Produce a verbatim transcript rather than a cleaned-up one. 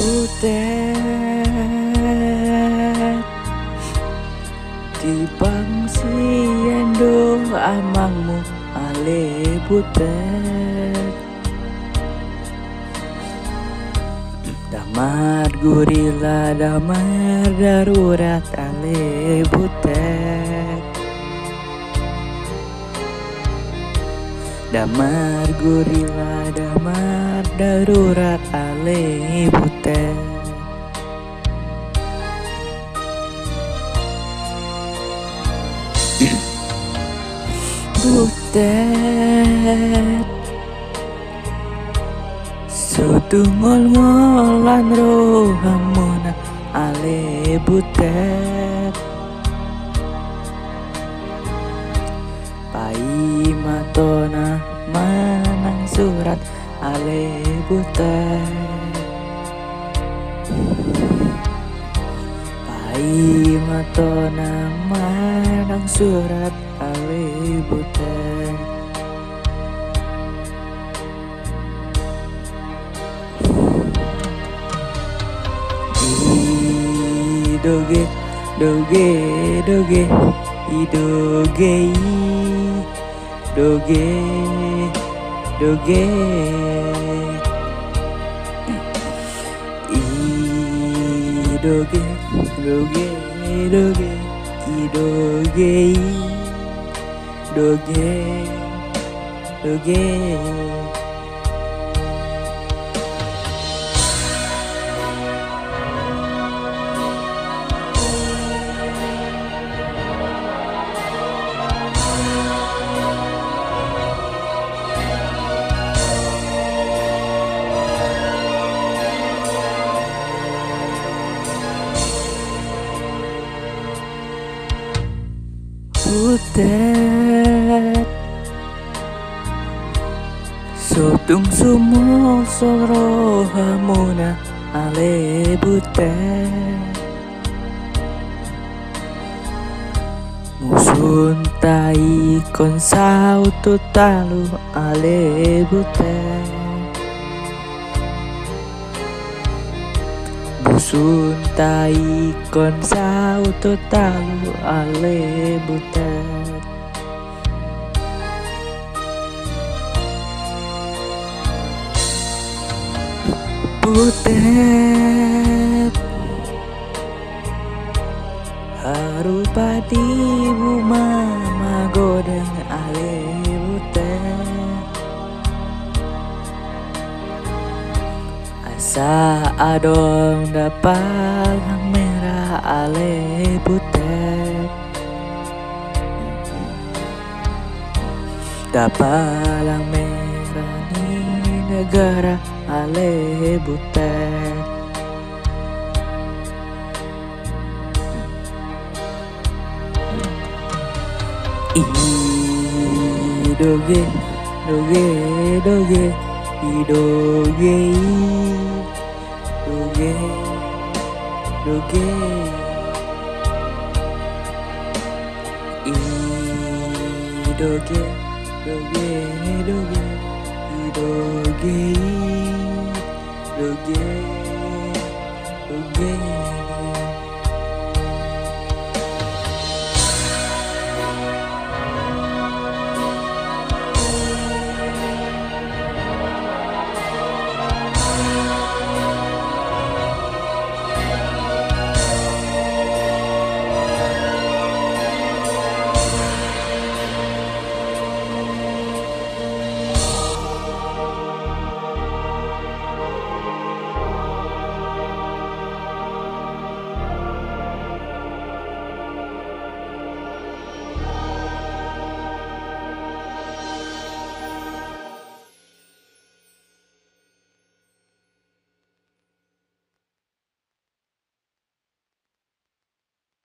Butet Tibang siendo amangmu ale butet Damar gurila damar darurat ale butet Damar gurila damar darurat ale butet Butet Sutungol ngolan rohamuna ale butet Pai matona manang surat ale butet Pai matona manang surat ale butet Doge, doge, doge, idoge, doge, doge, idoge, doge, doge, idoge, doge, doge. Butet Sotung sumo soro hamuna ale butet Musun tai konsau totalu ale butet Musun tai konsau totalu ale butet Butet Harupa di buma godeng ale butet Asa adong dapalang merah ale butet Dapalang merah ni negara ale butet Idoge, doge, doge, idoge, doge, doge, idoge, doge, doge, idoge, doge, doge.